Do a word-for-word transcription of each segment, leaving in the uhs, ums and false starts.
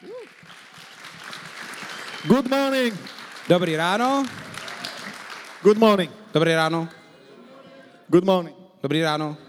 Good morning. Dobrý ráno. Good morning. Dobrý ráno. Good morning. Dobrý ráno.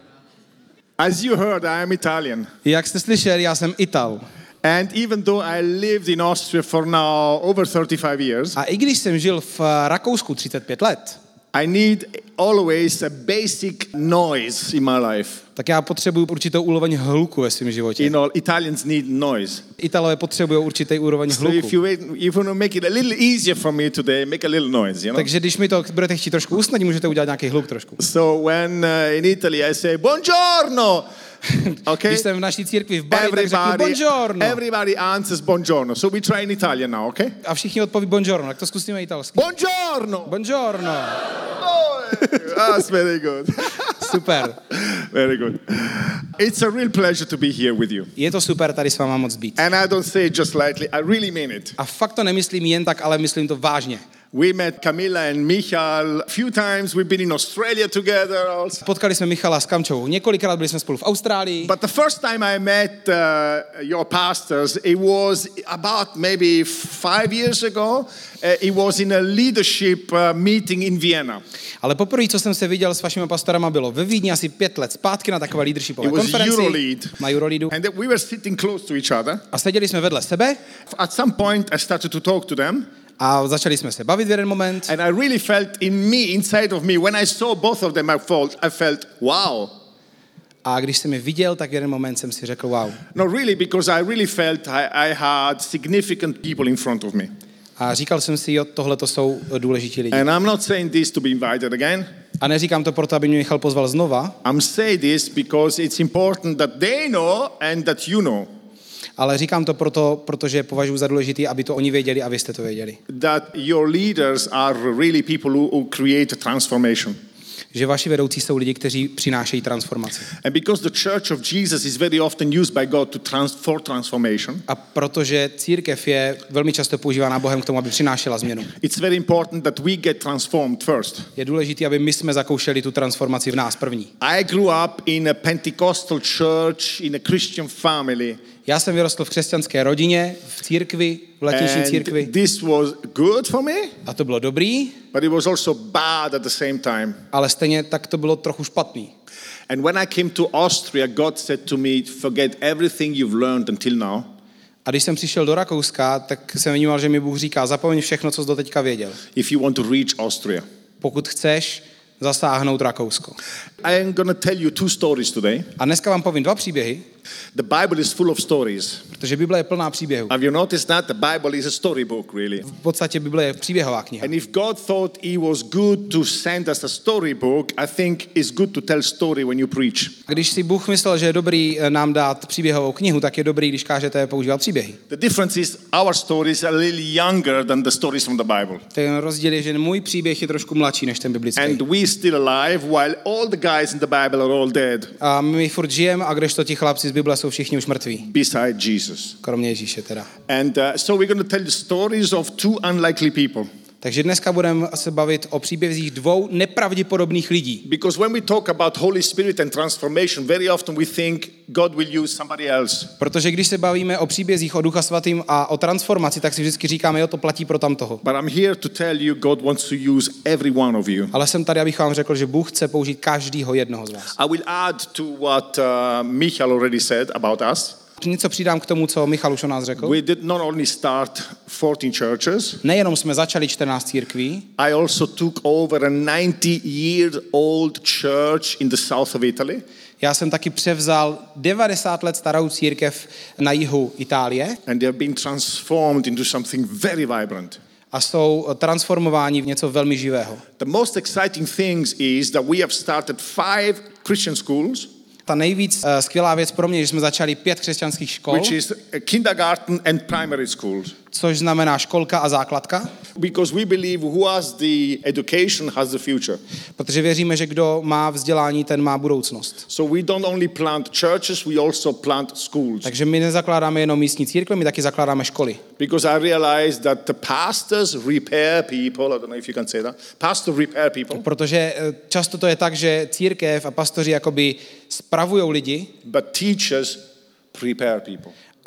As you heard, I am Italian. Jak jste slyšeli, já jsem Ital. And even though I lived in Austria for now over thirty-five years, A i když jsem žil v Rakousku třicet pět let, I need always a basic noise in my life. tak já potřebuju určitou úroveň hluku ve svém životě. You know, Italians need noise. Italové potřebují určitý úroveň So if hluku. you wait, if you want to make it a little easier for me today, make a little noise, you know? Takže když mi to budete chtít trošku usnadnit, můžete udělat nějaký hluk trošku. So when uh, in Italy I say buongiorno, okay? Když jsem v naší církvi v Bari, tak řeknu buongiorno. everybody answers buongiorno. So we try in Italian now, okay? A všichni odpoví buongiorno, tak to zkusíme italsky. Buongiorno. Buongiorno. Oh, that's very good. Super. Very good. It's a real pleasure to be here with you. Je to super tady s váma moc být. And I don't say it just lightly, I really mean it. A fakt to nemyslím jen tak, ale myslím to vážně. We met Camilla and Michal a few times. We've been in Australia together also. Potkali jsme Michala s Kamčou. Několikrát byli jsme spolu v Austrálii. But the first time I met uh, your pastors, it was about maybe five years ago. Uh, it was in a leadership uh, meeting in Vienna. Ale poprvé, co jsem se viděl s vašimi pastorama, bylo ve Vídni asi pět let zpátky na takové leadershipové It was konferenci Eurolead. na Euroleadu. And we were sitting close to each other. A seděli jsme vedle sebe At some point, I started to talk to them. a začali jsme se bavit v jeden moment. And I really felt in me, inside of me, when I saw both of them, I felt, I felt wow. A když jsem je viděl, tak v jeden moment jsem si řekl wow. No, really, because I really felt I, I had significant people in front of me. A říkal jsem si, jo, tohle to jsou důležití lidi. And I'm not saying this to be invited again. A neříkám to proto, aby mě Michal pozval znova, I'm saying this because it's important that they know and that you know. ale říkám to proto, protože považuji za důležitý, aby to oni věděli a vy jste to věděli. That your leaders are really people who, who create a transformation. Že vaši vedoucí jsou lidi, kteří přinášejí transformaci. And because the Church of Jesus is very often used by God to trans- for transformation. A protože církev je velmi často používána Bohem k tomu, aby přinášela změnu. It's very important that we get transformed first. Je důležité, aby my jsme zakoušeli tu transformaci v nás první. I grew up in a Pentecostal church, in a Christian family. Já jsem vyrostl v křesťanské rodině, v církvi, v letniční církvi. And this was good for me, A to bylo dobrý, but it was also bad at the same time. ale stejně tak to bylo trochu špatný. And when I came to Austria, God said to me, forget everything you've learned until now. A když jsem přišel do Rakouska, tak jsem vnímal, že mi Bůh říká, zapomeň všechno, co jsi doteďka věděl. If you want to reach Austria. Pokud chceš zasáhnout Rakousko. I am going to tell you two stories today. A dneska vám povím dva příběhy, The Bible is full of stories. protože Bible je plná příběhů. Have you noticed that? The Bible is a storybook, really. V podstatě Bible je příběhová kniha. And if God thought it was good to send us a storybook, I think it's good to tell story when you preach. Když si Bůh myslel, že je dobrý nám dát příběhovou knihu, tak je dobrý, když kážete používat příběhy. The difference is our stories are a little younger than the stories from the Bible. Ten rozdíl je, že můj příběh je trošku mladší než ten biblický. And we still alive while all the guys in the Bible are all dead. A my furt žijeme, a kdežto ti chlapci z Bible jsou všichni už mrtví. Beside Jesus. Kromě Ježíše teda. And uh, so we're going to tell the stories of two unlikely people. Takže dneska budeme se bavit o příbězích dvou nepravděpodobných lidí. Because when we talk about Holy Spirit and transformation, very often we think God will use somebody else. Protože když se bavíme o příbězích o Ducha Svatým a o transformaci, tak si vždycky říkáme, jo, to platí pro tamtoho. But I'm here to tell you God wants to use every one of you. Ale jsem tady, abych vám řekl, že Bůh chce použít každýho jednoho z vás. I will add to what uh, Michal already said about us. Něco přidám k tomu, co Michal už o nás řekl. We did not only start fourteen churches. Nejenom jsme začali čtrnáct církví, I also took over a ninety year old church in the south of Italy. já jsem taky převzal devadesát let starou církev na jihu Itálie And they have been transformed into something very vibrant. a jsou transformováni v něco velmi živého. The most exciting things is that we have started five Christian schools. Ta nejvíc uh, skvělá věc pro mě, že jsme začali pět křesťanských škol, Which is kindergarten and primary schools. což znamená školka a základka, Because we believe who has the education has the future. protože věříme, že kdo má vzdělání, ten má budoucnost. So we don't only plant churches, we also plant schools. Takže my nezakládáme jenom místní církve, my taky zakládáme školy. Because I realized that the pastors repair people. I don't know if you can say that. Pastors repair people. Protože často to je tak, že církev a pastoři jakoby spravujou lidi, But teachers prepare people.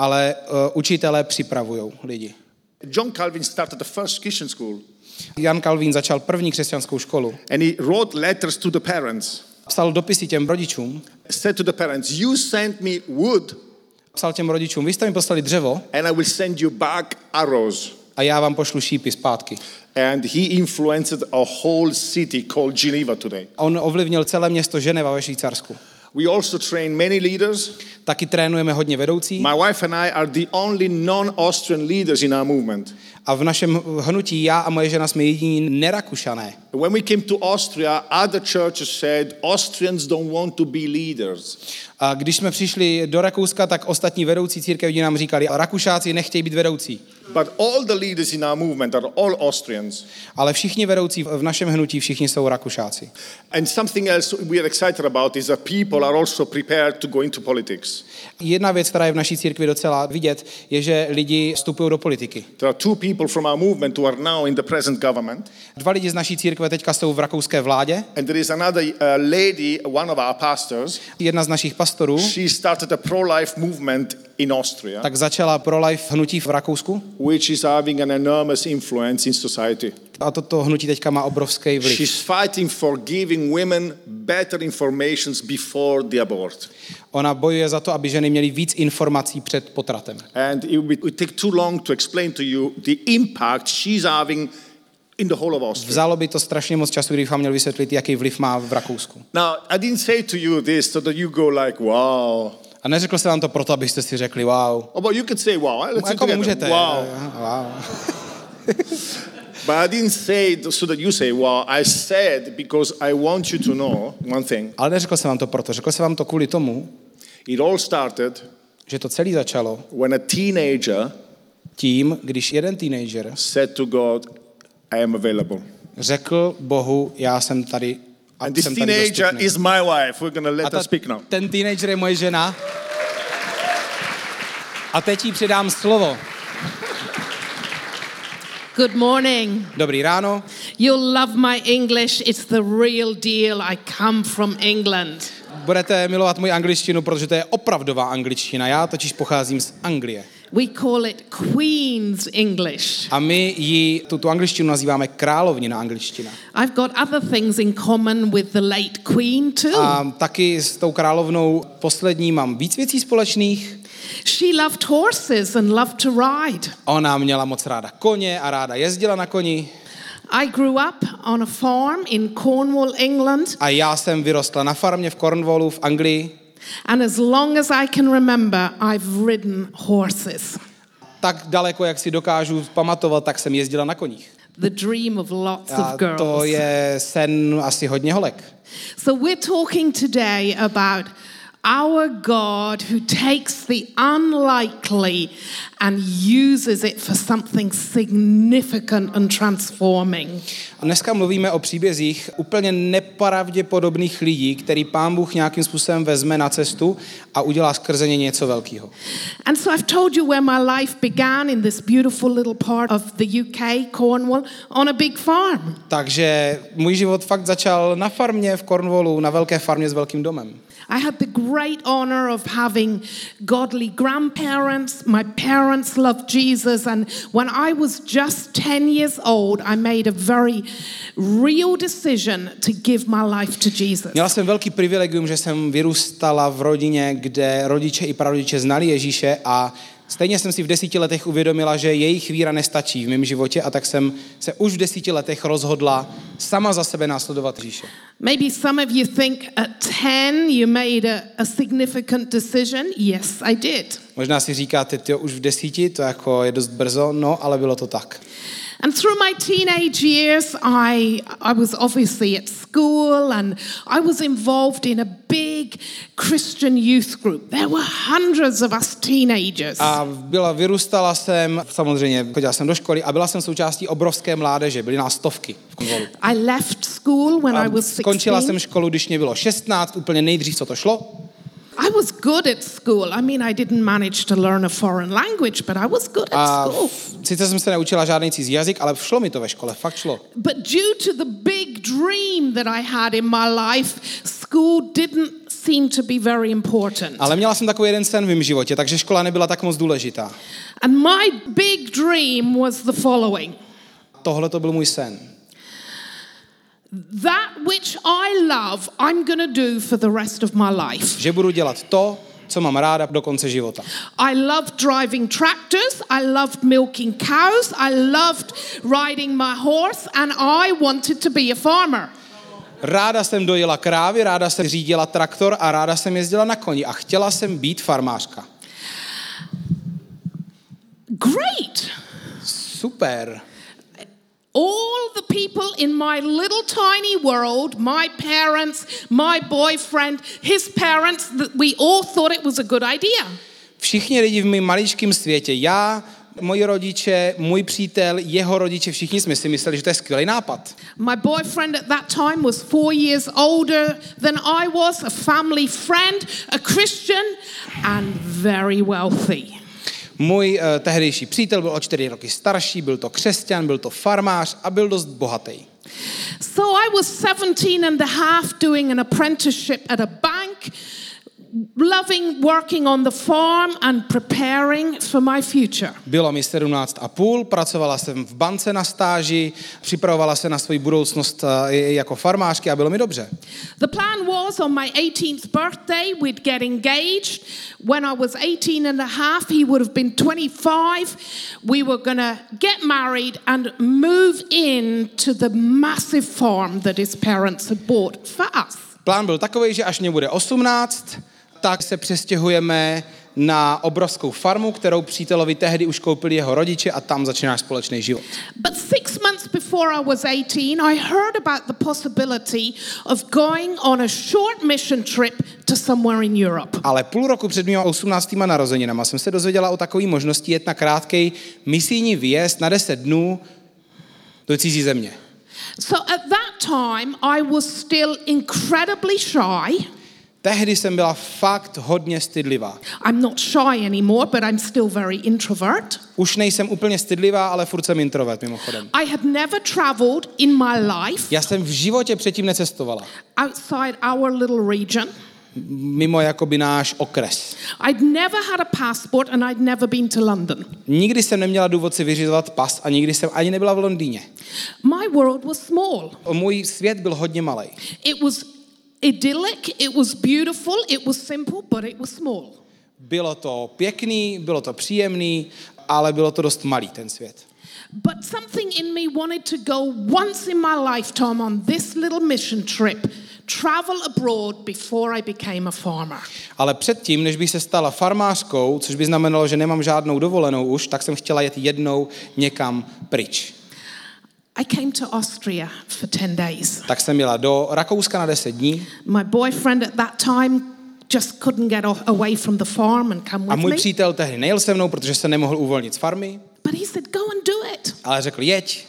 ale uh, učitelé připravujou lidi. John Calvin started the first Christian school. Jan Kalvín začal první křesťanskou školu. And he wrote letters to the parents. Psal dopisy těm rodičům. Said to the parents, you send me wood. Psal těm rodičům, vy jste mi poslali dřevo. And I will send you back arrows. A já vám pošlu šípy zpátky. And he influenced a whole city called Geneva today. On ovlivnil celé město Ženeva ve Švýcarsku. We also train many leaders. Taky trénujeme hodně vedoucí. My wife and I are the only non-Austrian leaders in our movement. A v našem hnutí já a moje žena jsme jediní nerakušané. When we came to Austria, other churches said Austrians don't want to be leaders. A když jsme přišli do Rakouska, tak ostatní vedoucí církevní nám říkali, Rakušáci nechtějí být vedoucí. But all the leaders in our movement are all Austrians. Ale všichni vedoucí v našem hnutí, všichni jsou Rakušáci. And something else we are excited about is that people are also prepared to go into politics. Jedna věc, která je v naší církvi docela vidět, je, že lidi vstupují do politiky. There are two people from our movement who are now in the present government. Dva lidi z naší církve teďka jsou v rakouské vládě. And there is another uh, lady, one of our pastors. Jedna z našich pastorů. She started a pro-life movement in Austria. Tak začala pro-life hnutí v Rakousku. Which is having an enormous influence in society. A toto hnutí teďka má obrovský vliv. She's fighting for giving women better informations before the abort. Ona bojuje za to, aby ženy měly víc informací před potratem. And it would take too long to explain to you the impact she's having in the whole of Austria. Vzalo by to strašně moc času, kdybych vám měl vysvětlit, jaký vliv má v Rakousku. Now, I didn't say to you this so that you go like, wow. A neřekl jsem vám to proto, abyste si řekli wow. Oh, but you could say wow. Let's say jako together. můžete. Wow. wow. But I didn't say it so that you say wow. I said because I want you to know one thing. Ale neřekl jsem vám to proto. Řekl jsem vám to kvůli tomu, it all started, že to celé začalo when a teenager tím, když jeden teenager said to God, I am available. Řekl Bohu, já jsem tady a And this jsem tady teenager dostupný. is my wife. We're going to let A ta, her speak now. ten teenager je moje žena. A teď jí předám slovo. Good morning. Dobrý ráno. You'll love my English. It's the real deal. I come from England. Budete milovat moji angličtinu, protože to je opravdová angličtina. Já totiž pocházím z Anglie. We call it Queen's English. A my ji, tuto angličtinu nazýváme královnina angličtina. I've got other things in common with the late Queen too. A taky s tou královnou poslední mám víc věcí společných. She loved horses and loved to ride. Ona měla moc ráda koně a ráda jezdila na koni. I grew up on a farm in Cornwall, England. A já jsem vyrostla na farmě v Cornwallu v Anglii. And as long as I can remember, I've ridden horses. Tak daleko, jak si dokážu pamatovat, tak jsem jezdila na koních. The dream of lots A of girls. to je sen asi hodně holek. So we're talking today about our God who takes the unlikely and uses it for something significant and transforming. A dneska mluvíme o příbězích úplně nepravděpodobných lidí, který Pán Bůh nějakým způsobem vezme na cestu a udělá skrze ně něco velkého. And so I've told you where my life began in this beautiful little part of the U K, Cornwall, on a big farm. Takže můj život fakt začal na farmě v Cornwallu, na velké farmě s velkým domem. I had the great honor of having godly grandparents. My parents loved Jesus, and when I was just ten years old, I made a very real decision to give my life to Jesus. Měla jsem velký privilegium, že jsem vyrůstala v rodině, kde rodiče i prarodiče znali Ježíše a stejně jsem si v desíti letech uvědomila, že jejich víra nestačí v mém životě a tak jsem se už v desíti letech rozhodla sama za sebe následovat Ježíše. Maybe some of you think at ten you made a, a significant decision. Yes, I did. Možná si říkáte, tyjo, už v desíti, to jako je dost brzo, no, ale bylo to tak. And through my teenage years, I I was obviously at school and I was involved in a big Christian youth group. There were hundreds of us teenagers. A byla, vyrůstala jsem, samozřejmě chodila jsem do školy a byla jsem součástí obrovské mládeže, byly nás stovky v Cornwallu. I left school when I was Skončila sixteen. jsem školu, když mě bylo šestnáct, úplně nejdřív, co to šlo. I was good at school. I mean, I didn't manage to learn a foreign language, but I was good at A school. f- sice jsem se neučila žádný cizí jazyk, ale šlo mi to ve škole, fakt šlo. But due to the big dream that I had in my life, school didn't seemed to be very important. Ale měla jsem takový jeden sen v mém životě, takže škola nebyla tak moc důležitá. And my big dream was the following. Tohle to byl můj sen. That which I love, I'm going to do for the rest of my life. Že budu dělat to, co mám ráda do konce života. I loved driving tractors, I loved milking cows, I loved riding my horse, and I wanted to be a farmer. Ráda jsem dojela krávy, ráda jsem řídila traktor a ráda jsem jezdila na koni a chtěla jsem být farmářka. Great! Super. All the people in my little tiny world, my parents, my boyfriend, his parents, that we all thought it was a good idea. Všichni lidi v mém maličkém světě, já, moji rodiče, můj přítel, jeho rodiče, všichni jsme si mysleli, že to je skvělý nápad. My boyfriend at that time was four years older than I was, a family friend, a Christian, and very wealthy. Můj uh, tehdejší přítel byl o čtyři roky starší, byl to křesťan, byl to farmář a byl dost bohatý. So I was seventeen and a half doing an apprenticeship at a bank, loving working on the farm and preparing for my future. Bylo mi sedmnáct a půl, pracovala jsem v bance na stáži, připravovala se na svou budoucnost uh, jako farmářky a bylo mi dobře. The plan was on my eighteenth birthday we'd get engaged. When I was eighteen and a half, he would have been twenty-five. We were going to get married and move into the massive farm that his parents had bought for us. Plán byl takový, že až mě bude osmnáct, tak se přestěhujeme na obrovskou farmu, kterou přítelovi tehdy už koupili jeho rodiče a tam začíná společný život. But six months before I was eighteen, I heard about the possibility of going on a short mission trip to somewhere in Europe. Ale půl roku před mými osmnáctými narozeninama jsem se dozvěděla o takové možnosti jet na krátkej misijní výjezd na deset dnů do cizí země. So at that time, I was still incredibly shy. Tehdy jsem byla fakt hodně stydlivá. I'm not shy anymore, but I'm still very introvert. Už nejsem úplně stydlivá, ale furt jsem introvert mimochodem. I had never traveled in my life Já jsem v životě předtím necestovala. outside our little region. Mimo jakoby náš okres. I'd never had a passport and I'd never been to London. Nikdy jsem neměla důvod si vyřizovat pas a nikdy jsem ani nebyla v Londýně. My world was small. Můj svět byl hodně malý. It was idyllic, it was beautiful, it was simple, but it was small. Bylo to pěkný, bylo to příjemný, ale bylo to dost malý ten svět. But something in me wanted to go once in my lifetime on this little mission trip, travel abroad before I became a farmer. Ale předtím, než bych se stala farmářkou, což by znamenalo, že nemám žádnou dovolenou už, tak jsem chtěla jet jednou někam pryč. I came to Austria for ten days. Tak jsem jela do Rakouska na deset dní. My boyfriend at that time just couldn't get off, away from the farm and come A with můj me. přítel tehdy nejel se mnou, protože se nemohl uvolnit z farmy. But he said, go and do it. Ale řekl, jeď.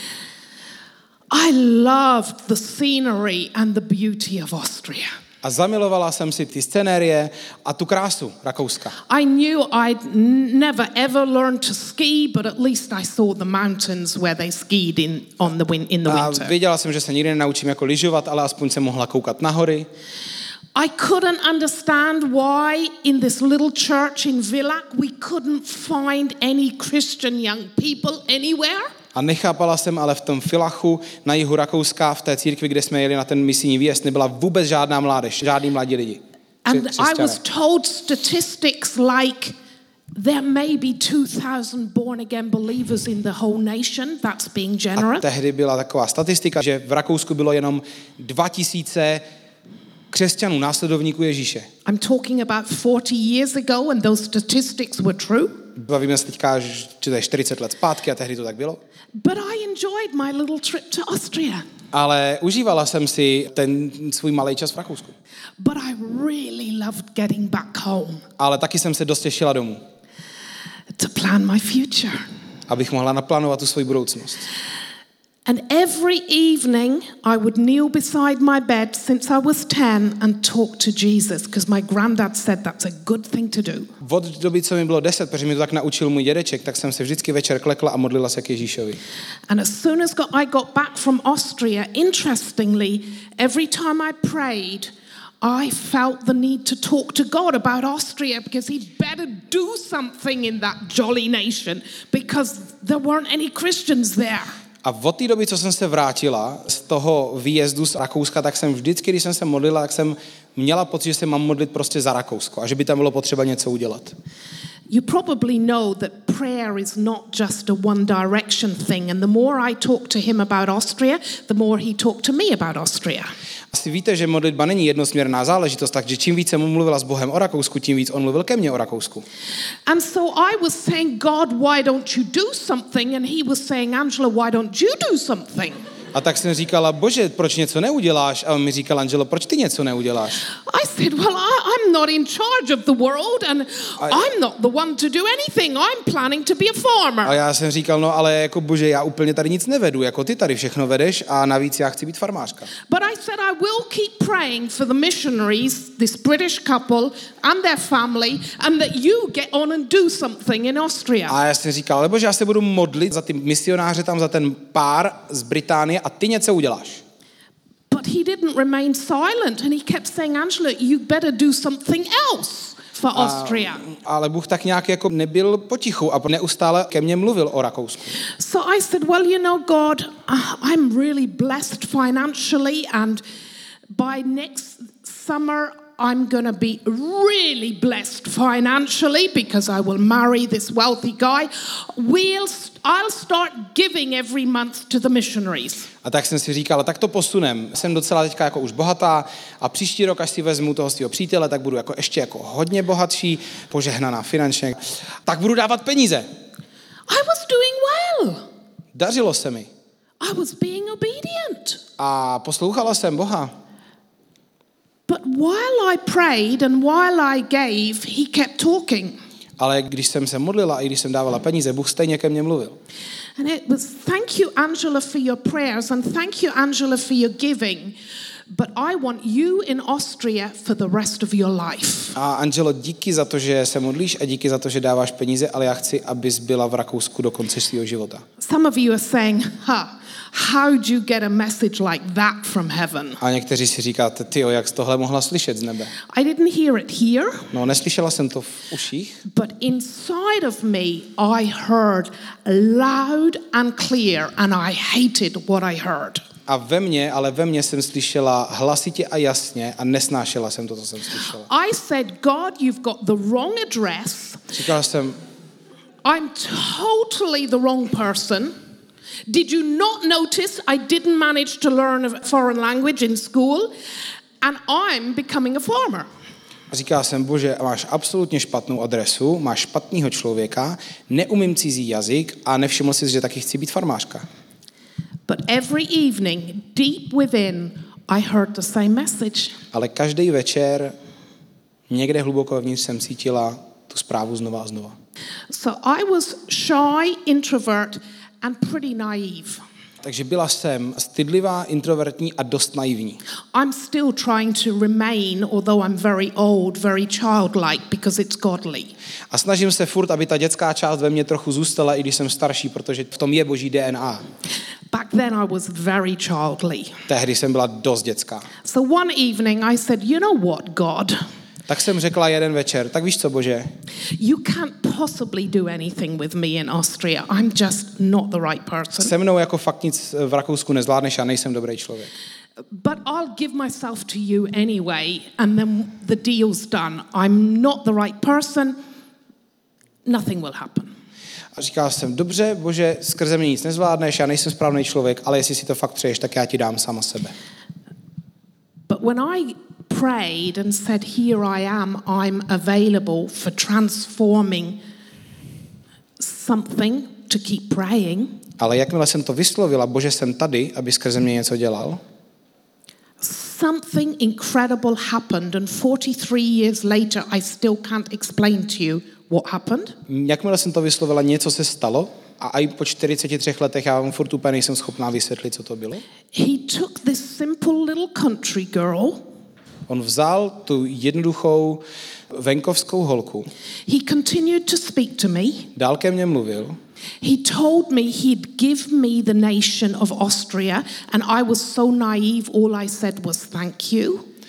I loved the scenery and the beauty of Austria. A zamilovala jsem si ty scenérie a tu krásu Rakouska. I knew I'd n- never ever learned to ski, but at least I saw the mountains where they skied in on the win- in the A winter. věděla jsem, že se nikdy nenaučím jako lyžovat, ale aspoň jsem mohla koukat na hory. I couldn't understand why in this little church in Villach we couldn't find any Christian young people anywhere. A nechápala jsem, ale v tom Villachu na jihu Rakouska, v té církvi, kde jsme jeli na ten misijní výjezd, nebyla vůbec žádná mládež, žádný mladí lidi. And Kři- I was křesťané. told statistics like there may be two thousand born again believers in the whole nation. That's being A generous. tehdy byla taková statistika, že v Rakousku bylo jenom dva tisíce křesťanů, následovníků Ježíše. I'm talking about forty years ago and those statistics were true. Bavíme se teďka, že to je čtyřicet let zpátky a tehdy to tak bylo. But I enjoyed my little trip to Austria. Ale užívala jsem si ten svůj malý čas v Rakousku. But I really loved getting back home Ale taky jsem se dost těšila domů, to plan my future. abych mohla naplánovat tu svou budoucnost. And every evening I would kneel beside my bed since I was ten and talk to Jesus because my granddad said that's a good thing to do. Od doby, co mi bylo deset, protože mi to tak naučil můj dědeček, tak jsem se vždycky večer klekla a modlila se k Ježíšovi. And as soon as got, I got back from Austria, interestingly, every time I prayed, I felt the need to talk to God about Austria because he'd better do something in that jolly nation because there weren't any Christians there. A od té doby, co jsem se vrátila z toho výjezdu z Rakouska, tak jsem vždycky, když jsem se modlila, tak jsem měla pocit, že se mám modlit prostě za Rakousko a že by tam bylo potřeba něco udělat. You probably know that prayer is not just a one direction thing, and the more I talk to him about Austria, the more he talked to me about Austria. Asi víte, že modlitba není jednosměrná záležitost, takže čím víc jsem mluvila s Bohem o Rakousku, tím víc on mluvil ke mně o Rakousku. And so I was saying, God, why don't you do something? And he was saying, Angela, why don't you do something? A tak jsem říkala, Bože, proč něco neuděláš? A on mi říkal, Angelo, proč ty něco neuděláš? I said, well, I, I'm not in charge of the world and I, I'm not the one to do anything. I'm planning to be a farmer. A já jsem říkal, no ale jako Bože, já úplně tady nic nevedu, jako ty tady všechno vedeš a navíc já chci být farmářka. But I said I will keep praying for the missionaries, this British couple and their family, and that you get on and do something in Austria. A já jsem říkal, ale Bože, já se budu modlit za ty misionáře tam, za ten pár z Británie a ty něco uděláš. But he didn't remain silent and he kept saying, Angela, you better do something else for Austria. A, ale Bůh tak nějak jako nebyl potichu a neustále ke mně mluvil o Rakousku. So I said, well, you know, God, uh, I'm really blessed financially and by next summer I'm going to be really blessed financially because I will marry this wealthy guy. We'll, I'll start giving every month to the missionaries. A tak jsem si říkal, tak to posunem. Jsem docela teďka jako už bohatá a příští rok, až si vezmu toho svého přítele, tak budu jako ještě jako hodně bohatší, požehnaná finančně. Tak budu dávat peníze. I was doing well. Dařilo se mi. I was being obedient. A poslouchala jsem Boha. But while I prayed and while I gave, he kept talking. Ale když jsem se modlila i když jsem dávala peníze, Bůh stejně ke mně mluvil. And it was, thank you, Angela, for your prayers and thank you, Angela, for your giving. But I want you in Austria for the rest of your life. A Angelo, díky za to, že se modlíš a díky za to, že dáváš peníze, ale já chci, abys byla v Rakousku do konce svého života. Some of you are saying, ha, how do you get a message like that from heaven? A někteří si říkáte, tyjo, jak jsi tohle mohla slyšet z nebe? I didn't hear it here. No, neslyšela jsem to v uších. But inside of me, I heard loud and clear and I hated what I heard. A ve mně, ale ve mně jsem slyšela hlasitě a jasně a nesnášela jsem to, co jsem slyšela. I said, God, you've got the wrong address. Říkala jsem, I'm totally the wrong person. Did you not notice I didn't manage to learn a foreign language in school and I'm becoming a farmer? a říkala jsem, Bože, máš absolutně špatnou adresu, máš špatného člověka, neumím cizí jazyk a nevšiml jsi, že taky chci být farmářka. But every evening, deep within, I heard the same message. Ale každý večer někde hluboko vevnitř jsem cítila tu zprávu znova a znova. So I was shy, introvert and pretty naive. Takže byla jsem stydlivá, introvertní a dost naivní. I'm still trying to remain, although I'm very old, very childlike, because it's godly. A snažím se furt, aby ta dětská část ve mně trochu zůstala, i když jsem starší, protože v tom je boží D N A. Back then I was very childly. Tehdy jsem byla dost dětská. So one evening I said, you know what, God? Tak jsem řekla jeden večer, tak víš co, Bože? You can't possibly do anything with me in Austria. I'm just not the right person. Se mnou jako fakt nic v Rakousku nezvládneš, já nejsem dobrý člověk. But I'll give myself to you anyway, and then the deal's done. I'm not the right person. Nothing will happen. A říkal jsem, dobře, Bože, skrze mě nic nezvládneš, já nejsem správný člověk, ale jestli si to fakt přeješ, tak já ti dám sama sebe. But when I prayed and said, here I am, I'm available for transforming something to keep praying. Ale jakmile jsem to vyslovila, Bože, jsem tady, aby skrze mě něco dělal, something incredible happened, and forty-three years later I still can't explain to you what happened. Jakmile jsem to vyslovila, něco se stalo a i po čtyřiceti třech letech já vám furt úplně nejsem schopná vysvětlit, co to bylo. He took this simple little country girl. On vzal tu jednoduchou venkovskou holku. He continued to speak to me. Dál ke mně mluvil. He told me he'd give me the nation of Austria, and I was so naive, all I said was thank you.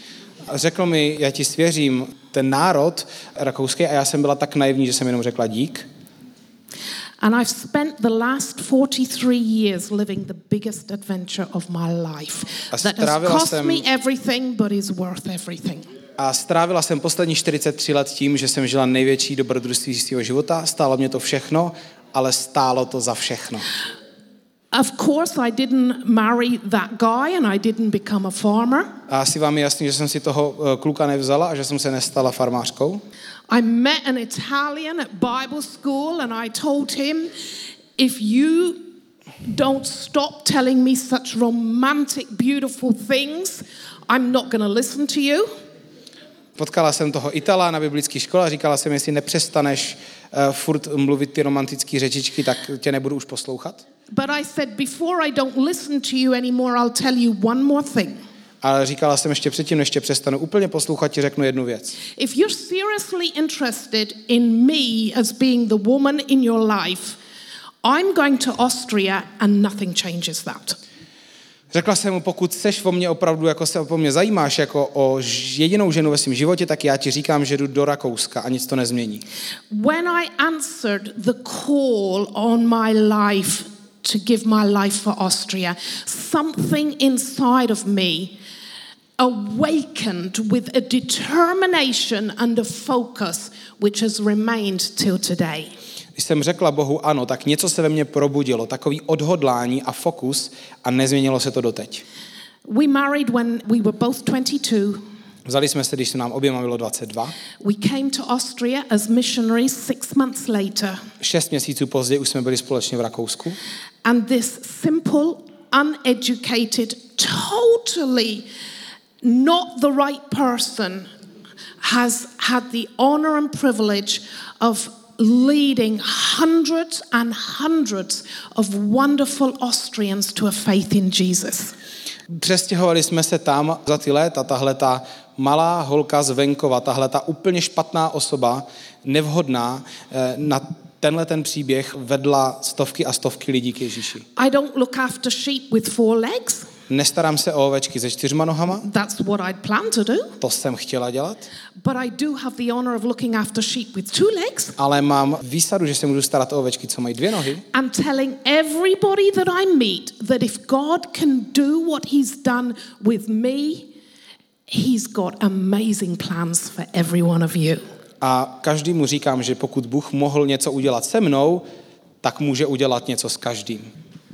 A řekl mi, já ti svěřím ten národ rakouský a já jsem byla tak naivní, že jsem jenom řekla dík. And I've spent the last forty-three years living the biggest adventure of my life. That has cost jsem... me everything, but is worth everything. A strávila jsem poslední čtyřicet tři let tím, že jsem žila největší dobrodružství svého života. Stálo mě to všechno, ale stálo to za všechno. Of course, I didn't marry that guy and I didn't become a farmer. A asi vám je jasný, že jsem si toho kluka nevzala a že jsem se nestala farmářkou. I met an Italian at Bible school and I told him, if you don't stop telling me such romantic, beautiful things, I'm not going to listen to you. Potkala jsem toho Itala na biblické škole a říkala jsem, jestli nepřestaneš uh, furt mluvit ty romantické řečičky, tak tě nebudu už poslouchat. But I said, before I don't listen to you anymore, I'll tell you one more thing. Ale říkala jsem ještě předtím, než tě přestanu úplně poslouchat, ti řeknu jednu věc. If you're seriously interested in me as being the woman in your life, I'm going to Austria and nothing changes that. Řekla jsem mu, pokud seš o mě opravdu, jako se o mě zajímáš jako o jedinou ženu ve svém životě, tak já ti říkám, že jdu do Rakouska a nic to nezmění. When I answered the call on my life to give my life for Austria, something inside of me awakened with a determination and a focus which has remained till today. Když jsem řekla Bohu ano, tak něco se ve mně probudilo, takový odhodlání a fokus a nezměnilo se to doteď. We married when we were both twenty-two. Vzali jsme se, když se nám oběma bylo dvacet dva. We came to Austria as missionaries six months later. Šest měsíců později už jsme byli společně v Rakousku. And this simple, uneducated, totally not the right person has had the honor and privilege of leading hundreds and hundreds of wonderful Austrians to a faith in Jesus. Přestěhovali jsme se tam za ty léta, tahle ta malá holka z venkova, tahle ta úplně špatná osoba, nevhodná, na tenhle ten příběh vedla stovky a stovky lidí k Ježíši. I don't look after sheep with four legs. Nestarám se o ovečky se čtyřma nohama. That's what I'd plan to do. To jsem chtěla dělat. But I do have the honor of looking after sheep with two legs. Ale mám výsadu, že se můžu starat o ovečky, co mají dvě nohy. And telling everybody that I meet that if God can do what he's done with me, he's got amazing plans for every one of you. A každému říkám, že pokud Bůh mohl něco udělat se mnou, tak může udělat něco s každým.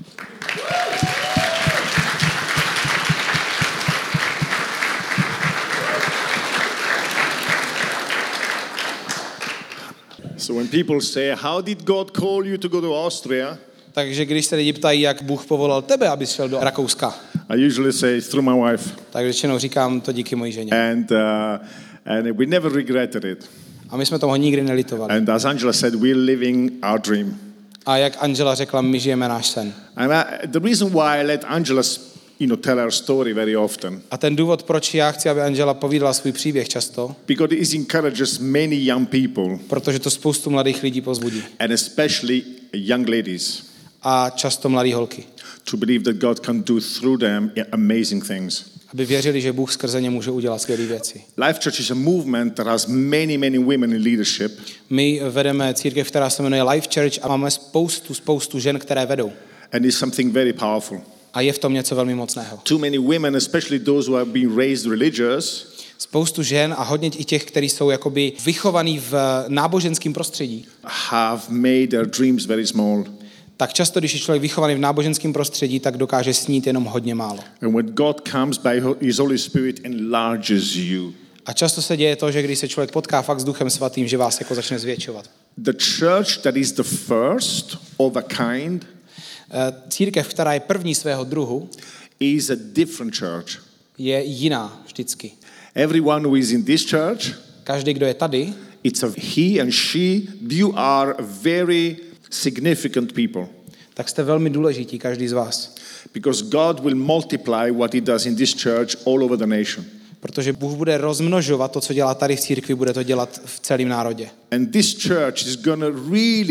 So when people say, how did God call you to go to Austria? Takže když se lidi ptají, jak Bůh povolal tebe, abys šel do Rakouska, I usually say through my wife. tak většinou říkám to díky mojí ženě. And uh, and we never regretted it. A my jsme toho nikdy nelitovali. And as Angela said, we're living our dream. A jak Angela řekla, my žijeme náš sen. And I, the reason why I let Angela, you know, tell her story very often. A ten důvod, proč já chci, aby Angela povídala svůj příběh často, because it encourages many young people. Protože to spoustu mladých lidí povzbudí. And especially young ladies. A často mladé holky. To believe that God can do through them amazing things. Aby věřili, že Bůh skrze ně může udělat skvělé věci. Life Church is a movement that has many, many women in leadership. My vedeme církev, která se jmenuje Life Church a máme spoustu, spoustu žen, které vedou. And it's something very powerful. A je v tom něco velmi mocného. Too many women, especially those who have been raised religious, spoustu žen a hodně i těch, kteří jsou jakoby vychovaní v náboženském prostředí, have made their dreams very small. Tak často, když je člověk vychovaný v náboženském prostředí, tak dokáže snít jenom hodně málo. And when God comes by His Holy Spirit enlarges you. A často se děje to, že když se člověk potká fakt s Duchem Svatým, že vás jako začne zvětšovat. The church that is the first of a kind, církev, která je první svého druhu, is a different church. Je jiná vždycky. Everyone who is in this church, každý, kdo je tady, it's a he and she, you are very significant people. Tak jste velmi důležití, každý z vás. Because God will multiply what he does in this church all over the nation. Protože Bůh bude rozmnožovat to, co dělá tady v církvi, bude to dělat v celém národě. And this church is going to really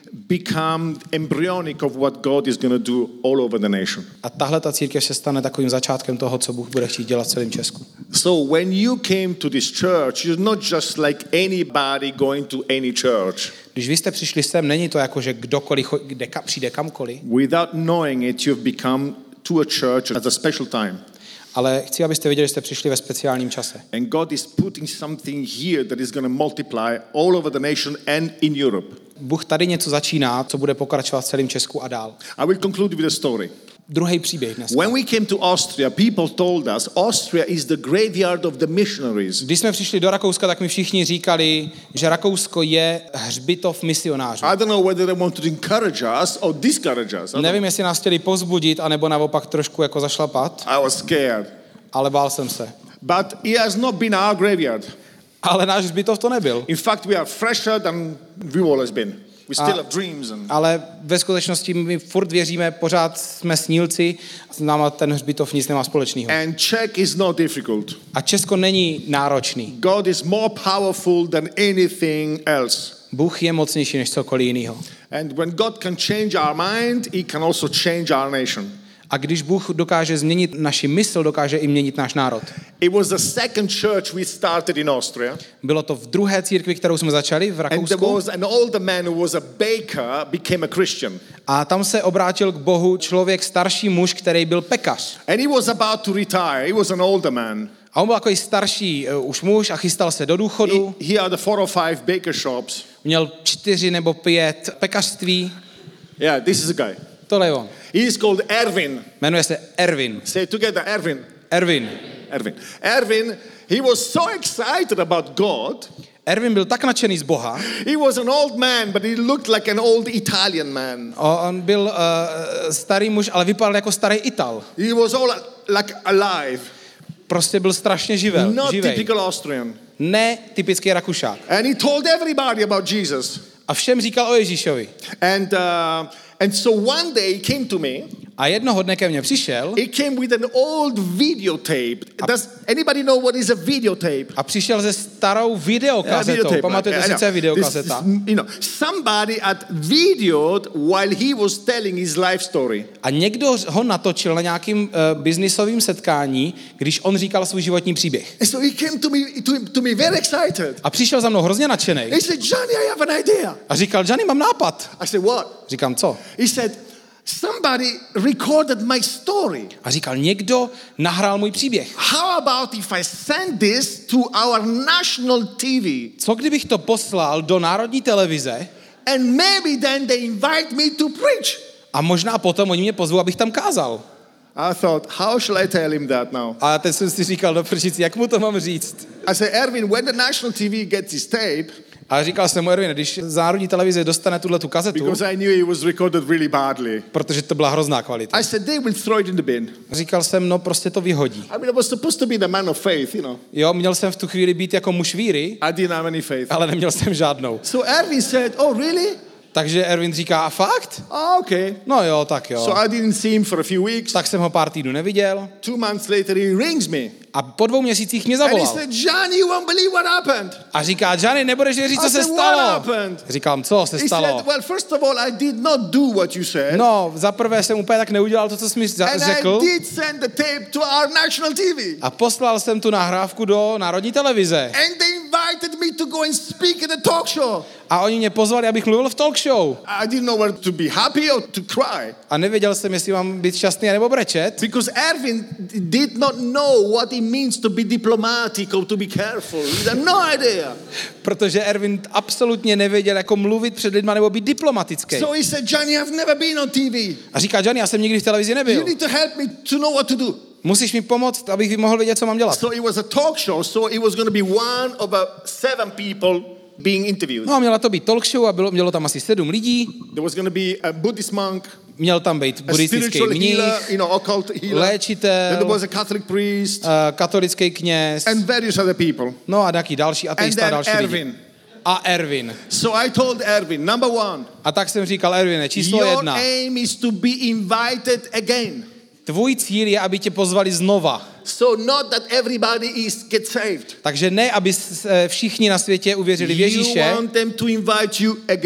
become embryonic of what God is going to do all over the nation. A tahle ta církev se stane takovým začátkem toho, co Bůh bude chtít dělat v celém Česku. So when you came to this church, you're not just like anybody going to any church. Když vy jste přišli sem, není to jako, že kdokoliv kde, přijde kamkoliv. Without knowing it, you've become to a church at a special time. Ale chci, abyste věděli, že jste přišli ve speciálním čase. And God is putting something here that is going to multiply all over the nation and in Europe. Bůh tady něco začíná, co bude pokračovat v celém Česku a dál. I will conclude with a story. Druhý příběh dnes. When we came to Austria, people told us Austria is the graveyard of the missionaries. Když jsme přišli do Rakouska, tak mi všichni říkali, že Rakousko je hřbitov misionářů. I don't know whether they want to encourage us or discourage us. Nevím, jestli nás chtěli povzbudit, anebo naopak trošku jako zašlapat, I was scared. ale bál jsem se. But it has not been our graveyard. Ale náš hřbitov to nebyl. In fact, we are fresher than we've always been. We still have dreams. And Ale ve skutečnosti my furt věříme, pořád jsme snílci, s náma ten hřbitov nic nemá společného. And Czech is not difficult. A Česko není náročný. God is more powerful than anything else. Bůh je mocnější než cokoliv jiného. And when God can change our mind, he can also change our nation. A když Bůh dokáže změnit naši mysl, dokáže i měnit náš národ. It was the second church we started in Austria. Bylo to v druhé církvi, kterou jsme začali v And there Rakousku. was an older man who was a baker, became a Christian. A tam se obrátil k Bohu člověk, starší muž, který byl pekař. And he was about to retire. He was an older man. A on byl takový starší uh, už muž a chystal se do důchodu. He, he had the four or five baker shops. Měl čtyři nebo pět pekařství. Yeah, this is a guy. Tohle je on. He is called Erwin. Jmenuje se Erwin. Say it together, Erwin. Erwin. Erwin. Erwin, he was so excited about God. Erwin byl tak nadšený z Boha. He was an old man, but he looked like an old Italian man. On byl uh, starý muž, ale vypadal jako starý Ital. He was all like alive. Prostě byl strašně živel, Not živej. typical Austrian. Ne typický Rakušák. And he told everybody about Jesus. A všem říkal o Ježíšovi. And uh, and so one day he came to me. A jednoho dne ke mně přišel. He came with an old videotape. Does anybody know what is a videotape? A přišel se starou videokazetou. Yeah, Pamatujete si, co je videokazeta? This, you know, somebody had videoed while he was telling his life story. A někdo ho natočil na nějakým uh, biznisovým setkání, když on říkal svůj životní příběh. And so he came to me to, to me very excited. A přišel za mnou hrozně nadšený. He said, "Johnny, I have an idea." A říkal, Johnny, mám nápad. I said, "What?" Říkám, co? He said, "Somebody recorded my story. A říkal, někdo nahrál můj příběh. How about if I send this to our national T V? Co kdybych to poslal do národní televize And maybe then they invite me to preach." a možná potom oni mě pozvou, abych tam kázal. I thought, how shall I tell him that now? A teď jsem si říkal, do prčici, jak mu to mám říct? I said, Erwin, when the national T V gets his tape, A říkal jsem mu, Erwin, když z národní televize dostane tuhle tu kazetu, because I knew it was recorded really badly, protože to byla hrozná kvalita. I said, they will throw it in the bin. Říkal jsem, no prostě to vyhodí. I mean, I was supposed to be the man of faith, you know. Jo, měl jsem v tu chvíli být jako muž víry, I didn't have any faith. ale neměl jsem žádnou. So Erwin said, oh, really? Takže Erwin říká, a fakt? Oh, okay. No jo, tak jo. So I didn't see him for a few weeks. Tak jsem ho pár týdnů neviděl Two months later, he rings me. a po dvou měsících mě And he zavolal. said, Johnny, you won't believe what happened. A říká, Johnny, nebudeš věřit, co I se said, what stalo. happened? Říkám, co se He stalo? said, well, first of all, I did not do what you said. No, za prvé jsem úplně tak neudělal to, co jsi mi za- And řekl. I did send the tape to our national T V. A poslal jsem tu nahrávku do národní televize. And they invited me to go and speak at a talk show. A oni mě pozvali, abych mluvil v talk show. I didn't know whether to be happy or to cry. A nevěděl jsem, jestli mám být šťastný nebo brečet. Because Erwin did not know what it means to be diplomatic or to be careful. He had no idea. Protože Erwin absolutně nevěděl, jako mluvit před lidma nebo být diplomatický. So he said, Johnny, I've never been on T V. A říká, Johnny, já jsem nikdy v televizi You nebyl. need to help me to know what to do. Musíš mi pomoct, abych mohl vědět, co mám dělat. So it was a talk show, so it was going to be one of uh, seven people being interviewed. No a měla to být talk show a bylo, mělo tam asi sedm lidí. There was going to be a Buddhist monk, Měl tam být a buddhistický spiritual mních, healer, you know, occult healer. Then léčitel, there was a Catholic priest uh, katolický kněz, and various other people. no a taky další And ateista a then další lidi. Erwin. A Erwin. So I told Erwin, number one, A tak jsem říkal, Erwine, číslo your jedna. aim is to be invited again. Tvůj cíl je, aby tě pozvali znova. So not that everybody is get saved. Takže ne, aby se všichni na světě uvěřili v You Ježíše, want them to invite you again.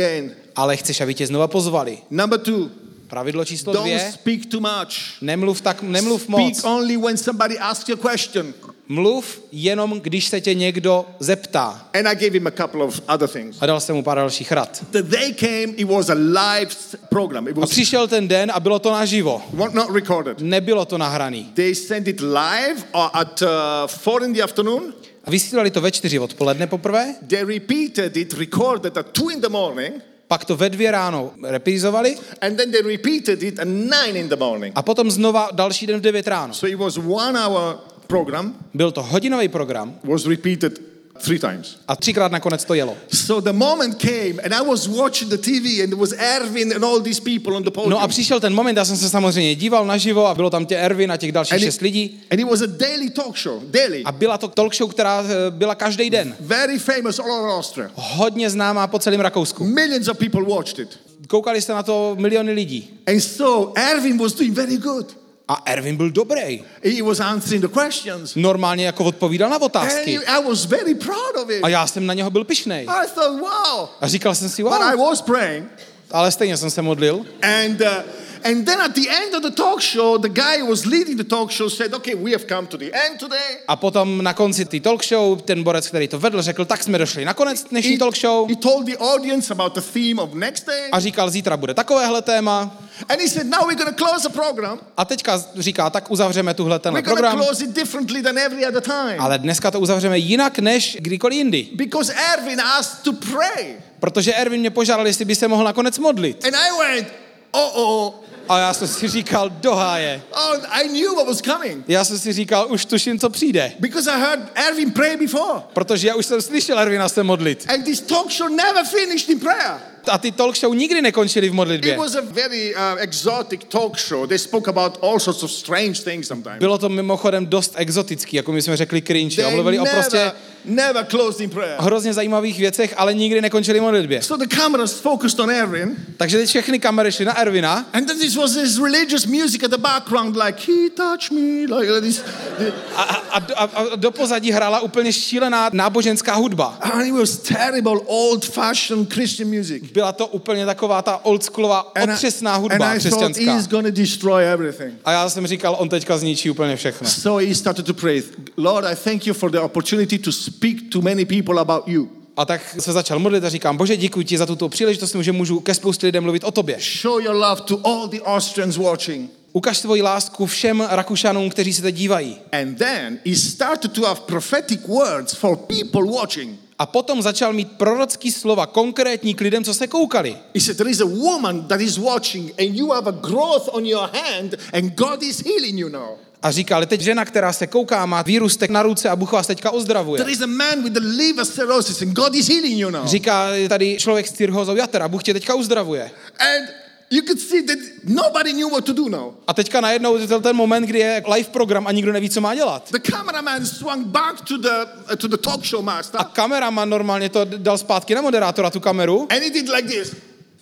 ale chceš, aby tě znova pozvali. Number two. Pravidlo číslo Don't dvě. speak too much. Nemluv tak, nemluv moc. Speak only when somebody asks you a question. Mluv jenom, když se tě někdo zeptá. And I gave him a couple of other things. A dal jsem mu pár dalších rad. The day came, it was a live program. It A was přišel ten den a bylo to naživo. not recorded. Nebylo to nahraný. They sent it live at uh, four in the afternoon. A vysílali to ve čtyři odpoledne poprvé, They repeated it, recorded at two in the morning. pak to ve dvě ráno reprízovali And then they repeated it at nine in the morning. a potom znova další den v devět ráno. So it was one hour program, Byl to hodinový program was repeated three times. a třikrát nakonec to jelo. So the moment came and I was watching the T V and there was Erwin and all these people on the podium. No a přišel ten moment, já jsem se samozřejmě díval naživo a bylo tam tě Erwin a těch dalších and, šest it, lidí. and it was a daily talk show, daily. A byla to talk show, která byla každý den. Very famous all over Austria. Hodně známá po celém Rakousku. Millions of people watched it. Koukali se na to miliony lidí. And so Erwin was doing very good. A Erwin byl dobrý. He was answering the questions. Normálně jako odpovídal na And otázky. I was very proud of it. A já jsem na něho byl pyšnej. I thought, wow. A říkal jsem si, But I wow. was praying. Ale stejně jsem se modlil. And uh, and then at the end of the talk show, the guy who was leading the talk show said, okay, we have come to the end today. A potom na konci té talk show ten borec, který to vedl, řekl, tak jsme došli na konec dnešní He, talk show. he told the audience about the theme of next day. A říkal, zítra bude takovéhle téma. And he said, now we're going to close the program. A teďka říká, tak uzavřeme tuhle tenhle We're going to program. close it differently than every other time. Ale dneska to uzavřeme jinak než kdykoliv jindy. Because Erwin asked to pray. Protože Erwin mě požádal, jestli by se mohl nakonec modlit. And I went, oh-oh. A já jsem si říkal, do háje. Oh, I knew what was coming. Já jsem si říkal, už tuším, co přijde. Because I heard Erwin pray before. Protože já už jsem slyšel Erwina se modlit. And this talk show never finished in prayer. A ty talk show nikdy nekončily v modlitbě. It was a very uh, exotic talk show. They spoke about all sorts of strange things sometimes. Bylo to mimochodem dost exotický, jako my jsme řekli cringe. A mluvili o prostě never closed in prayer. hrozně zajímavých věcech, ale nikdy nekončili v modlitbě. So the cameras focused on Erwin. Takže teď všechny kamery šly na Erwina. And then this was this religious music at the background, like he touched me, like this. A, a, a, a do pozadí hrála úplně šílená náboženská hudba. And it was terrible, old-fashioned Christian music. Byla to úplně taková ta oldschoolová, otřesná hudba and I thought křesťanská. he's going to destroy everything. A já jsem říkal, on teďka zničí úplně všechno. So he started to pray, Lord, I thank you for the opportunity to speak to many people about you. A tak se začal modlit a říkám, Bože, děkuji ti za tuto příležitost, že můžu ke spoustě lidem mluvit o tobě. Show your love to all the Austrians watching. Ukaž svoji lásku všem Rakušanům, kteří se teď dívají. And then he started to have prophetic words for people watching. A potom začal mít prorocký slova konkrétní k lidem, co se koukali. He said, there is a woman that is watching and you have a growth on your hand and God is healing you now. A říkal, teď žena, která se kouká, má výrůstek na ruce a Bůh vás teďka ozdravuje. There is a man with the liver cirrhosis and God is healing you now. Říká, tady člověk s cirhózou jater a Bůh tě teďka uzdravuje. And you could see that nobody knew what to do now. A teďka najednou je ten moment, kdy je live program a nikdo neví, co má dělat. The cameraman swung back to the uh, to the talk show master. A kameraman normálně to dal zpátky na moderátora, tu kameru. And he did like this.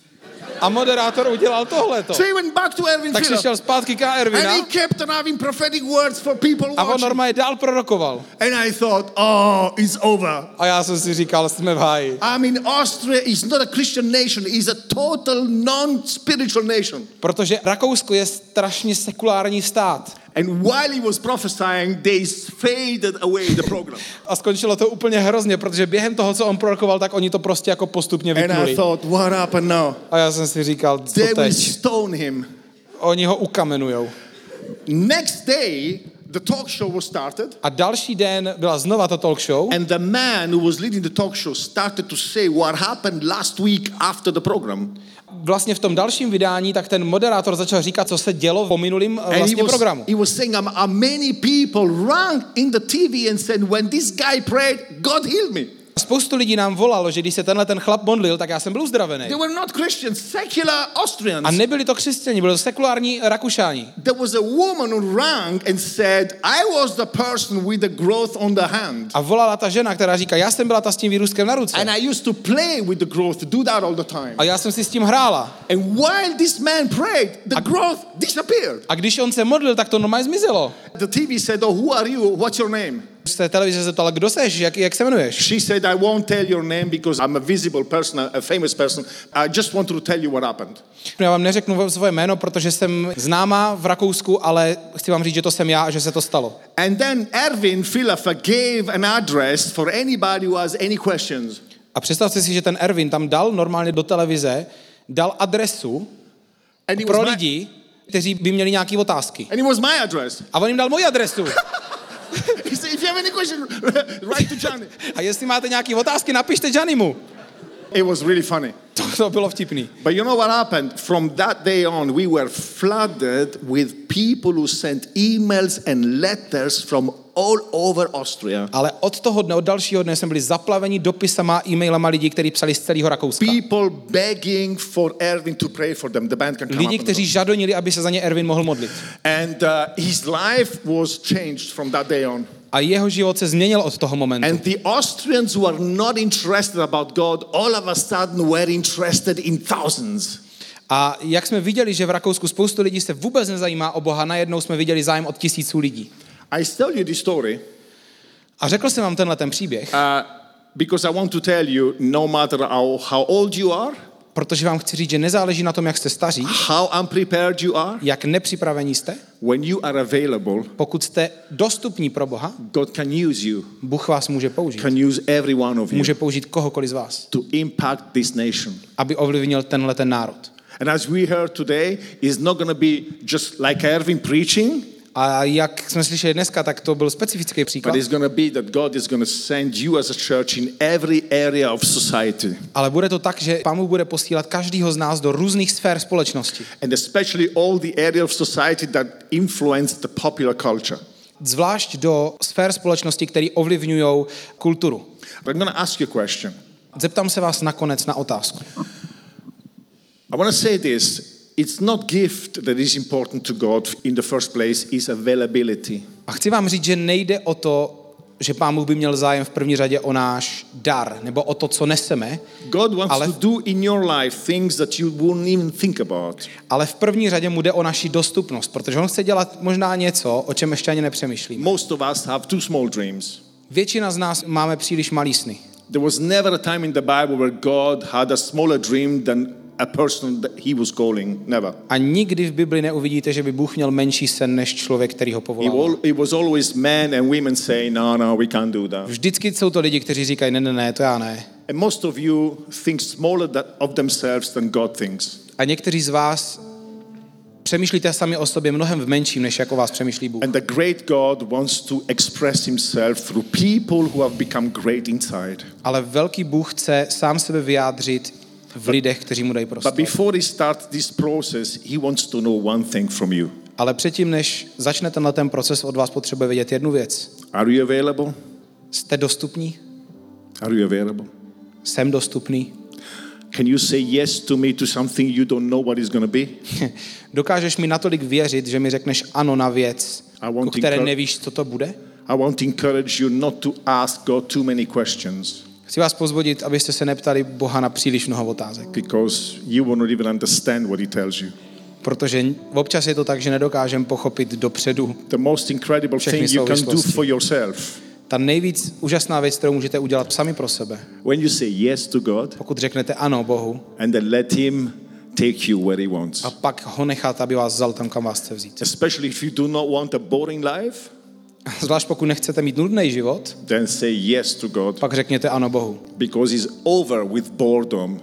A moderátor udělal tohleto. So he went back to Erwin Tak Philip. šel zpátky k Erwina And he kept on having prophetic words for people a on watching. normálně dál prorokoval. And I thought, oh, it's over. A já jsem si říkal, jsme v háji. I mean, Austria is not a Christian nation. It's a total non-spiritual nation. Protože Rakousko je strašně sekulární stát. And while he was prophesying, they faded away the program. A skončilo to úplně hrozně, protože během toho, co on prorokoval, tak oni to prostě jako postupně And I vypnuli. thought, what happened now? A já jsem si říkal, co They will teď? stone him. Oni ho ukamenujou. Next day, the talk show was started. A další den byla znova ta talk show. And the man who was leading the talk show started to say what happened last week after the program. Vlastně v tom dalším vydání, tak ten moderátor začal říkat, co se dělo po minulým And he vlastně was, programu. he was saying, um, uh, many people ran in the T V and said, when this guy prayed, God healed me. Spoustu lidí nám volalo, že když se tenhle ten chlap modlil, tak já jsem byl uzdravený. They were not Christians, secular Austrians. A nebyli to křesťani, byli to sekulární Rakušáni. There was a woman who rang and said, I was the person with the growth on the hand. A volala ta žena, která říká, já jsem byla ta s tím výrůstkem na ruce. And I used to play with the growth, do that all the time. A já jsem si s tím hrála. And while this man prayed, the growth disappeared. A když on se modlil, tak to normálně zmizelo. The T V said, oh, who are you? What's your name? z té televize zeptal, kdo seš, jak, jak se jmenuješ? She said, I won't tell your name because I'm a visible person, a famous person. I just want to tell you what happened. Já vám neřeknu svoje jméno, protože jsem známá v Rakousku, ale chci vám říct, že to jsem já a že se to stalo. And then Erwin Villacher gave an address for anybody who has any questions. A představte si, že ten Erwin tam dal normálně do televize, dal adresu And it pro was my, lidi, kteří by měli nějaké otázky. and it was my address. A on jim dal moji adresu. He said, if you have any question, write to Johnny. A jestli máte nějaké otázky, napište Janimu. It was really funny. To, to bylo vtipný. But you know what happened? From that day on, we were flooded with people who sent emails and letters from all over Austria. Ale od toho dne, od dalšího dne jsme byli zaplaveni dopisama, e-mailama lidí, kteří psali z celého Rakouska. People begging for Erwin to pray for them. The band can come Lidi, up. kteří žadonili, aby se za ně Erwin mohl modlit. And uh, his life was changed from that day on. A jeho život se změnil od toho momentu. And the Austrians who are not interested about God, all of a sudden were interested in thousands. A jak jsme viděli, že v Rakousku spoustu lidí se vůbec nezajímá o Boha, najednou jsme viděli zájem od tisíců lidí. I tell you this story A řekl jsem vám tenhle ten příběh, uh, because I want to tell you, no matter how, how old you are, protože vám chci říct, že nezáleží na tom, jak jste staří, how unprepared you are, jak nepřipravení jste, when you are available, pokud jste dostupní pro Boha, God can use you, Bůh vás může použít. can use every one of you Může použít kohokoliv z vás, to impact this nation. aby ovlivnil tenhle ten národ. And as we heard today, it's not going to be just like Erwin preaching, A jak jsme slyšeli dneska, tak to byl specifický but příklad, it's going to be that God is going to send you as a church in every area of society. ale bude to tak, že Pán Bůh bude posílat každýho z nás do různých sfér společnosti. And especially all the area of society that influence the popular culture. Zvlášť do sfér společnosti, které ovlivňují kulturu. But I'm going to ask you a question. Zeptám se vás nakonec na otázku. I want to say this. It's not gift that is important to God in the first place, it's availability. A chci vám říct, že nejde o to, že Pán Bůh by měl zájem v první řadě o náš dar, nebo o to, co neseme, God wants ale, to do in your life things that you wouldn't even think about. ale v první řadě mu jde o naši dostupnost, protože on chce dělat možná něco, o čem ještě ani nepřemýšlíme. Most of us have too small dreams. Většina z nás máme příliš malý sny. There was never a time in the Bible where God had a smaller dream than a person that he was calling. Never. A nikdy v Bibli neuvidíte, že by Bůh měl menší sen než člověk, který ho It, povolal. all, it was always men and women saying, no, no, we can't do that. Vždycky jsou to lidi, kteří říkají, ne, ne, ne, to já ne. And most of you think smaller that, of themselves than God thinks. A někteří z vás přemýšlíte sami o sobě mnohem v menším, než jako vás přemýšlí Bůh. And the great God wants to express himself through people who have become great inside. Ale velký Bůh chce sám sebe vyjádřit v lidech, kteří mu dají But prostor. before he starts this process, he wants to know one thing from you. Ale předtím, než začne tenhle ten proces, od vás potřebuje vědět jednu věc. Are you available? Jste dostupní? Are you available? Jsem dostupný? Can you say yes to me to something you don't know what it's going to be? Dokážeš mi natolik věřit, že mi řekneš ano na věc, I want o které to encour- nevíš, co to bude? I want to encourage you not to ask God too many questions Chci vás pozvodit, abyste se neptali Boha na příliš mnoho otázek. because you will not even understand what he tells you. Protože občas je to tak, že nedokážeme pochopit dopředu. The most incredible Všechny thing you can do souvislosti. for yourself, Ta nejvíc úžasná věc, kterou můžete udělat sami pro sebe, when you say yes to God pokud řeknete ano Bohu and then let him take you where he wants. a pak ho nechat, aby vás vzal tam, kam vás chce vzít. Especially if you do not want a boring life, Zvlášť pokud nechcete mít nudný život, then say yes to God pak řekněte ano Bohu. because he's over with boredom.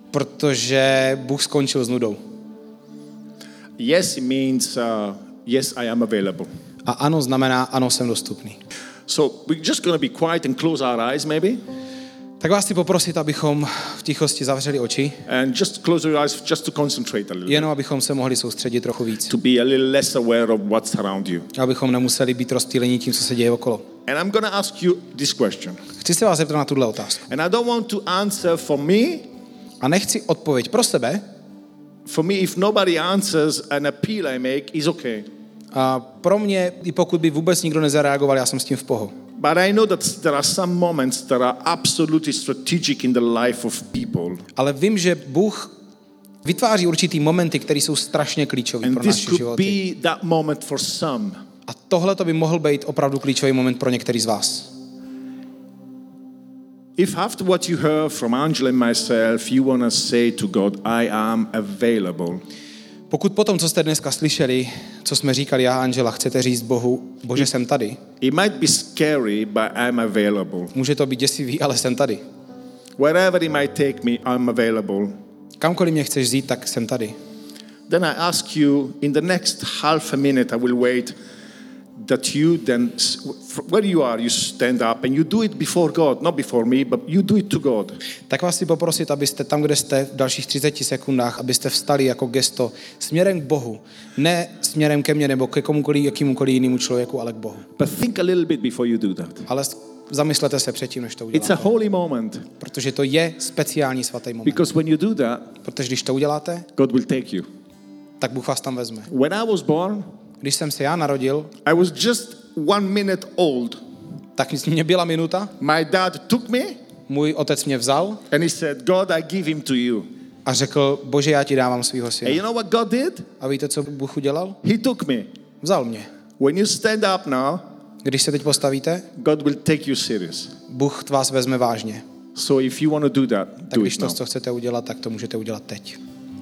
Protože Bůh skončil s nudou. Yes, it means uh, yes, I am available. A ano znamená ano, jsem dostupný. So we're just going to be quiet and close our eyes maybe Tak vás chci poprosit, abychom v tichosti zavřeli oči, and just close your eyes just to concentrate a little, jenom abychom se mohli soustředit trochu víc. to be a little less aware of what's around you. Abychom nemuseli být rozptýleni tím, co se děje okolo. And I'm going to ask you this question. Chci se vás zeptat na tuhle otázku. And I don't want to answer for me. A nechci odpověď pro sebe. For me, if nobody answers an appeal I make, is okay. A pro mě, i pokud by vůbec nikdo nezareagoval, já jsem s tím v pohodě. But I know that there are some moments that are absolutely strategic in the life of people. Ale vím, že Bůh vytváří určitý momenty, které jsou strašně klíčové And pro this naše could životy. be that moment for some. A tohle to by mohl být opravdu klíčový moment pro některý z vás. If after what you heard from Angela and myself, you want to say to God, I am available. Pokud potom, co jste dneska slyšeli, co jsme říkali já a Angela, chcete říct Bohu, Bože, jsem tady. It might be scary, but I'm available. Může to být děsivý, ale jsem tady. Wherever it might take me, I'm available. Kamkoliv mě chceš vzít, tak jsem tady. Then I ask you, in the next half a minute, I will wait, that you then, where you are, you stand up and you do it before God, not before me, but you do it to God. Tak vás chci poprosit, abyste tam, kde jste v dalších třiceti sekundách, abyste vstali jako gesto směrem k Bohu. Ne směrem ke mně nebo ke komukoliv, jakýmukoliv jinému člověku, ale k Bohu. But think a little bit before you do that. Ale zamyslete se předtím, než to uděláte. It's a holy moment. Protože to je speciální svatý moment. Because when you do that, Protože když to uděláte, God will take you. tak Bůh vás tam vezme. When I was born, Když jsem se já narodil, I was just one minute old. tak mě byla minuta, My dad took me můj otec mě vzal and he said, God, I give him to you. a řekl, Bože, já ti dávám svýho And syna. you know what God did? A víte, co Bůh udělal? He took me. Vzal mě. When you stand up now, Když se teď postavíte, God will take you serious. Bůh vás vezme vážně. So if you want to do that, Tak do když it to, now. co chcete udělat, tak to můžete udělat teď.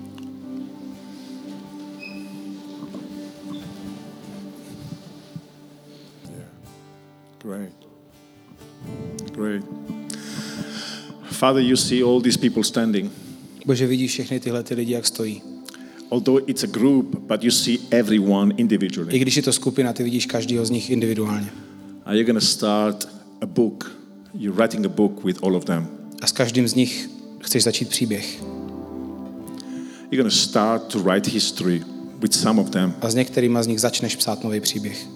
Great. Great. Father, you see all these people standing. Bože, vidíš všechny tyhle ty lidi, jak stojí. Although it's a group, but you see everyone I individually. když je to skupina, ty vidíš každýho z nich individuálně. Are you going to start a book? You're writing a book with all of them. A s každým z nich chceš začít příběh. You're going to start to write history with some of them. A s některýma z nich začneš psát nový příběh.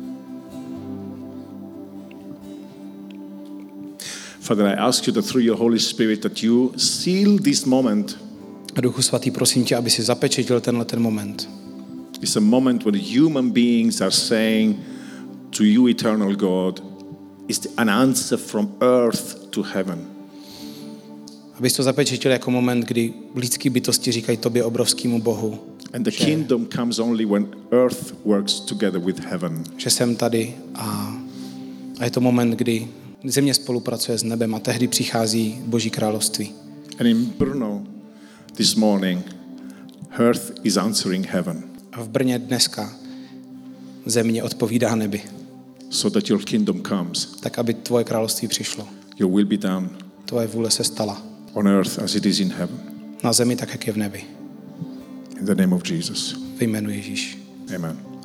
Father, I ask you that through your Holy Spirit that you seal this moment. A Duchu svatý, prosím tě, aby si zapečetil tenhle ten moment. It's a moment when human beings are saying to you, eternal God, is an answer from earth to heaven. Abys to zapečetil jako moment, kdy lidský bytosti říkají tobě, obrovskému Bohu, And the kingdom comes only when earth works together with heaven. že jsem tady a, a je to moment, kdy země spolupracuje s nebem a tehdy přichází Boží království. And in Brno this morning, earth is answering heaven A v Brně dneska země odpovídá nebi, so that your kingdom comes. tak aby tvoje království přišlo. Your will be done Tvoje vůle se stala on earth as it is in heaven. na zemi tak, jak je v nebi. In the name of Jesus. Ve jménu Ježíš. Amen.